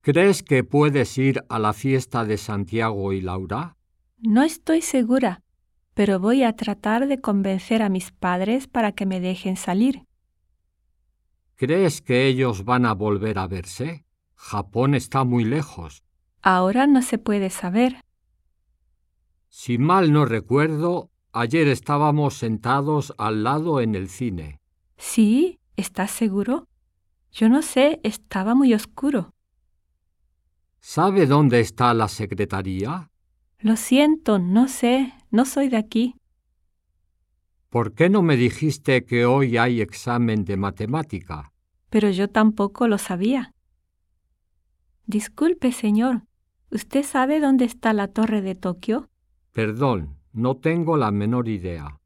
¿Crees que puedes ir a la fiesta de Santiago y Laura? No estoy segura, pero voy a tratar de convencer a mis padres para que me dejen salir. ¿Crees que ellos van a volver a verse? Japón está muy lejos. Ahora no se puede saber. Si mal no recuerdo, ayer estábamos sentados al lado en el cine. ¿Sí? ¿Estás seguro? Yo no sé, estaba muy oscuro. ¿Sabe dónde está la secretaría? Lo siento, no sé, no soy de aquí. ¿Por qué no me dijiste que hoy hay examen de matemática? Pero yo tampoco lo sabía. Disculpe, señor, ¿usted sabe dónde está la torre de Tokio? Perdón, no tengo la menor idea.